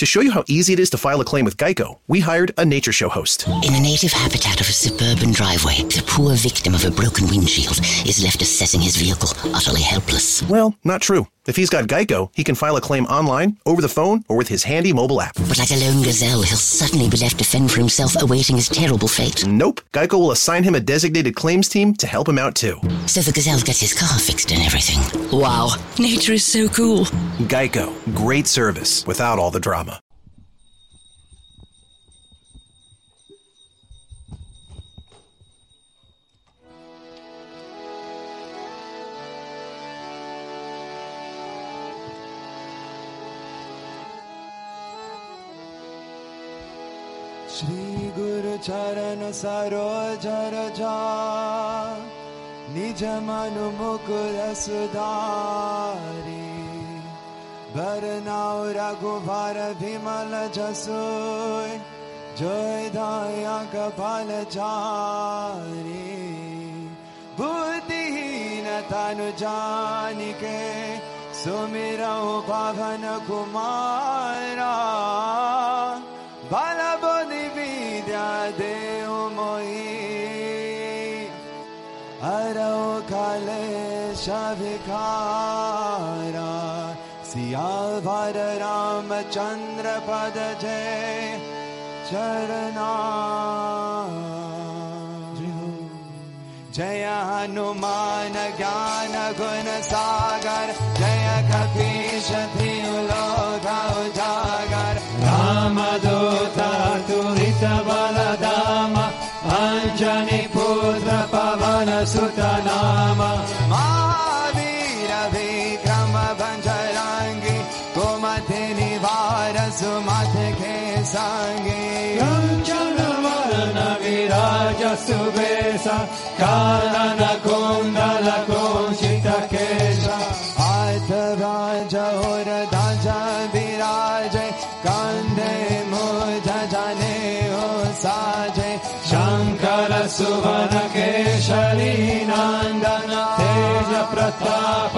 To show you how easy it is to file a claim with Geico, we hired a nature show host. In the native habitat of a suburban driveway, the poor victim of a broken windshield is left assessing his vehicle, utterly helpless. Well, not true. If he's got Geico, he can file a claim online, over the phone, or with his handy mobile app. But like a lone gazelle, he'll suddenly be left to fend for himself, awaiting his terrible fate. Nope. Geico will assign him a designated claims team to help him out, too. So the gazelle gets his car fixed and everything. Wow, nature is so cool. Geico. Great service without all the drama. Shri गुरु चरण सरोज रजा निज मनु मुकुर सुधारी बरनाउ रघुबर विमल जसु जय दया कपाल चारी बुद्धिहीन तनु जानिके सुमिरौ पवन कुमारा बल बुद्धि विद्या देव मोहि हरौ कलेश विकारा सियावर रामचंद्र पद जय चरना जय हनुमान ज्ञान गुण सागर जय कपीश तिहु लोक उजागर रामदूत अतुलित बलधाम अंजनी पुत्र पवन सुत नाम महावीर विक्रम भंजरंगी कुमति निवार सुमति के संगी कंचन वरण विराज सुबेसा कानन कुंडल कुंचित केशा हाथ और ध्वजा विराजे कंधे मूंज जनेऊ साजे शंकर सुवन केशरी नंदन तेज प्रताप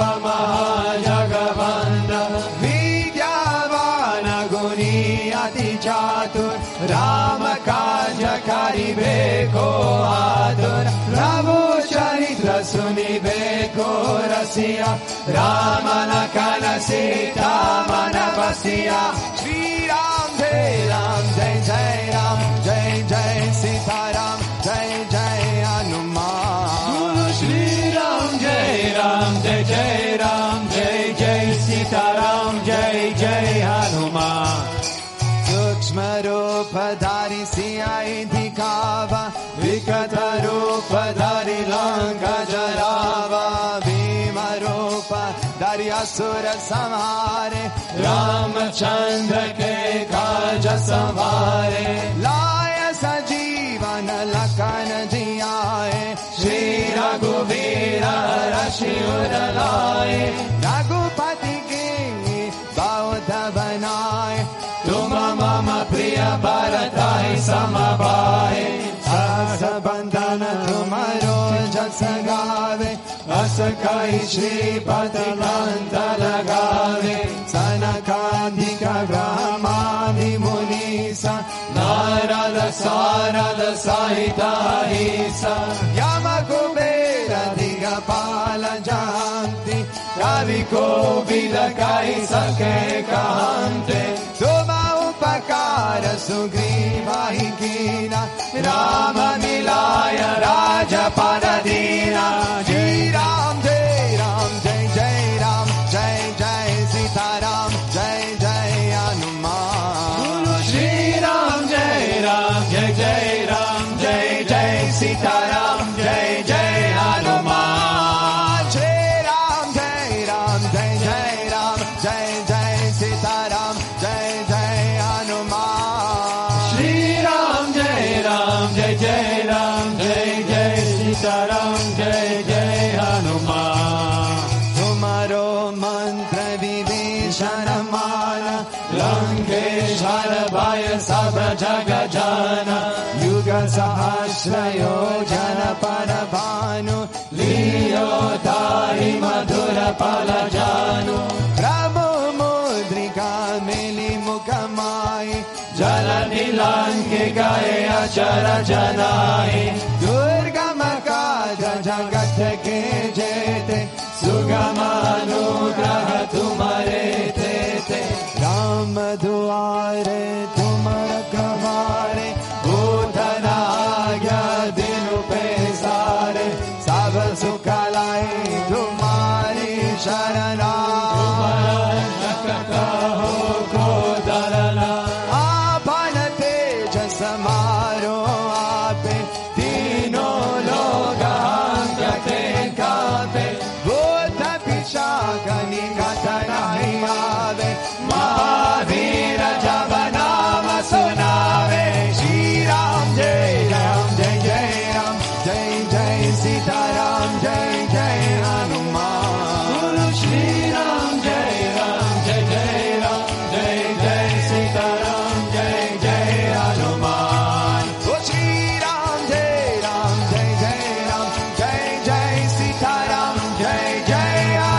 महाजगवंदन विद्यावान गुणी अति चातुर राम काज करिबे को आतुर प्रभु चरित्र सुनिबे को रसिया राम लखन सीता मन बसिया श्री राम जय राम जय जय सीताराम जय जय हनुमान गुरु श्री राम जय जय राम जय जय सीताराम जय जय हनुमान सूक्ष्म रूप धारी सियाई दिखावा विकट रूप धारी लंका जरावा भीम रूप धारी असुर संहारे रामचंद्र के काज संवारे लाय सजीवन लखन जियाए श्री रघुवीर रशिउर लाए रघुपति के बहुत बनाए तुम मम प्रिय भरताई समभाए सास बंधन तुम्हारो जस गावे अस कई श्रीपति कंठ लगावे सनकादिक ब्रह्मादि मुनीसा नारद सारद सहित ईसा यम कुबेर दिगपाल जयंती कवि कोविद कहि सके कहन्ते तुम उपकार सुग्रीवाहि कीना राम मिलाय राजपद दीना श्री राम जय जय राम जय जय सीताराम जय जय हनुमान गुरु श्री राम जय जय राम जय जय सीताराम जय जय हनुमान श्री राम जय जय राम जय जय सीताराम जय जय हनुमान श्री राम जय जय राम जय जय सीताराम जय जय हनुमान तुम्हारो मंत्र विभीषण माना लंकेश्वर भय सब जग जाना युग सहस्र योजन पर भानु लियो ताहि मधुर पल जानु प्रभु मुद्रिका मिली मुख Janahi, Jalani Lanki Gaya Chara Janahi, Durga Makaja Jagat ke jete, Sugama Anugraha tumhare tete, Ram duare tumhara kavare, Bhutana agya dinu pe sare, Sab sukha lai tumhari sharana, Tumhara ho ko darana, Apana teja samaro ape, Tino loga angate kape, Bhuta pichakani katanai ave, Mahavira javanama sunave, Shri Ram Jai Ram Jai Jai Ram, Jai Jai Sitaram, Jai Jai Hanuman. Guru Shri Ram Jai Ram Jai Jai Ram, Jai Jai Sitaram, Jai Jai Hanuman. Oh Shri Ram Jai Ram Jai Jai Ram, Jai Jai Sitaram, Jai Jai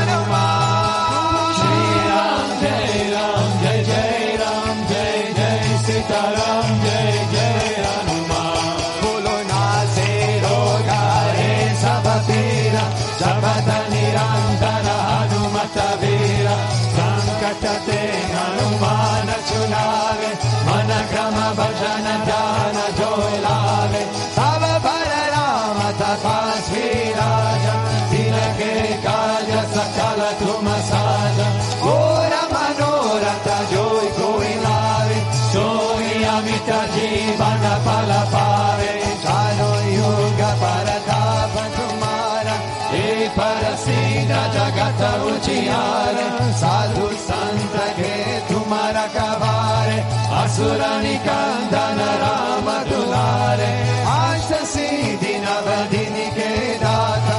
Hanuman. Shri Ram Jai Ram Jai Jai Ram, Jai Jai Sitaram, Jai Jai Hanuman. Bolo nase rogare sabapira, Jabata nirantara Hanumata vira, Sankatate Hanumana chunave, Managrama bhajana dhyana jolave, Tava Pararama tapasvi raja, Dinake kaja sakala tumasaja, Ora manorata joy koilave, Soy amita jivana palapave, Chano yoga paratapa tumara, E parasita jagata uchiare, Sadhu santa ke tumara kavare, Asurani kandana rama dulare, Ashta siddhi navadini ke data,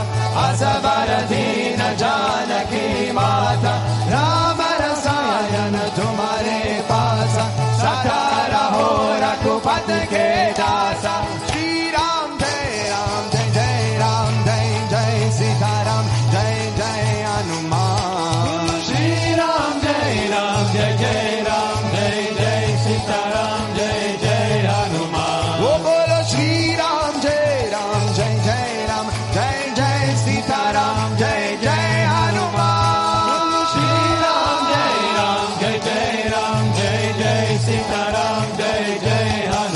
Asavaradina janaki mata, Rama rasayana tumare pasa, Satara hora kupat ke dasa, Shri Ram Jai Ram Jai Jai Ram, Jai Jai Sitaram, Jai Jai Hanuman. Shri Ram Jai Ram Jai Jai Ram, Jai Jai Sitaram, Jai Jai Hanuman. Oh bolo Shri Ram Jai Ram Jai Jai Ram, Jai Jai Sitaram, Jai Jai Hanuman. Shri Ram Jai Ram Jai Jai Ram, Jai Jai Sitaram, Jai Jai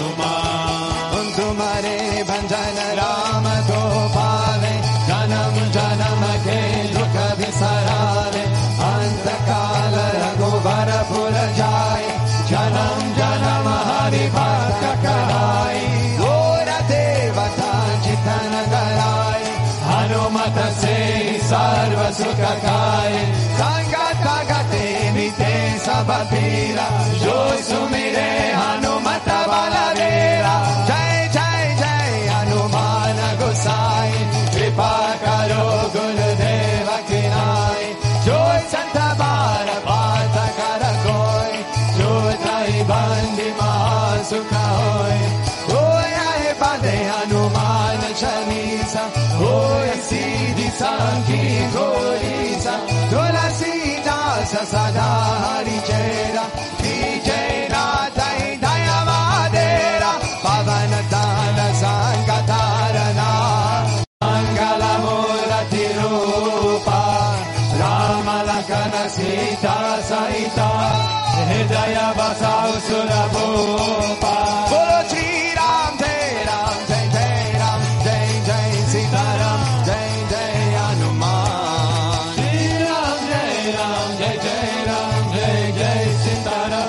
Hanuman. Tumhare bhanjan Ram ko paave, Janam janam ke dukh visarave, Ant kala raghuvar pur jaye, Janam janam hari bhakta kahai, Gora devata jitan garaye, Hanumata se sarva sukha kaaye, Sangata gate mite sabapira, Jo sumire Hanumata balavera, Jai Jai Jai Hanumana Gosai, Kripa karo Gurudeva kinai, Jo Santa Bara Pata karakoi, Jo Tai Bandi Mahasukha hoi, Hoya he bande Hanuman Chalisa, Hoya Siddhi Sanki Golisa, Tulasi Dasa Sada Hari Chera, Vijayna Tai Dayavadera, Pavanatana Sankatarana, Mangala Murati Rupa, Rama Lakana Sita Saita, Hridaya Vasau Surabhupa. Bolo Shri Ram Jai Ram Jai Jai Ram, Jai Jai Sitaram, Jai Jai Hanuman. Shri Ram Jai Ram Jai Jai Ram, Jai Jai Sitaram,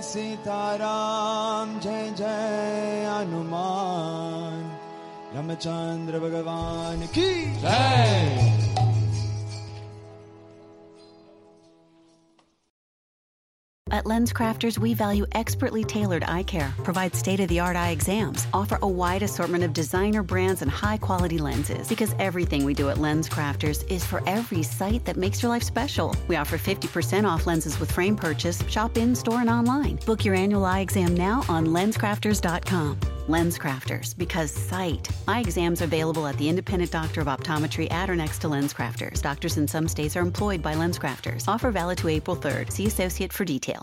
Sitaram जय जय हनुमान रामचंद्र भगवान की जय. At LensCrafters, we value expertly tailored eye care, provide state-of-the-art eye exams, offer a wide assortment of designer brands and high-quality lenses. Because everything we do at LensCrafters is for every sight that makes your life special. We offer 50% off lenses with frame purchase, shop in-store and online. Book your annual eye exam now on LensCrafters.com. LensCrafters, because sight. Eye exams are available at the independent doctor of optometry at or next to LensCrafters. Doctors in some states are employed by LensCrafters. Offer valid to April 3rd. See associate for details.